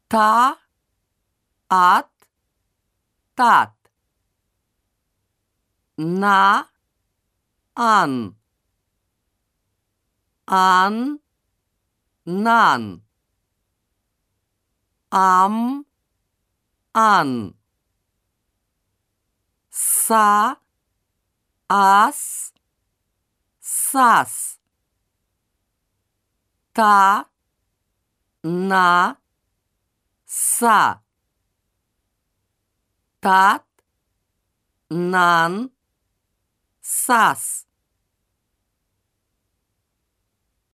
Та, ат, тат. На, ан. Ан, нан. Ам, ан. Са, ас, сас. Та, на, са. Тат, нан, сас.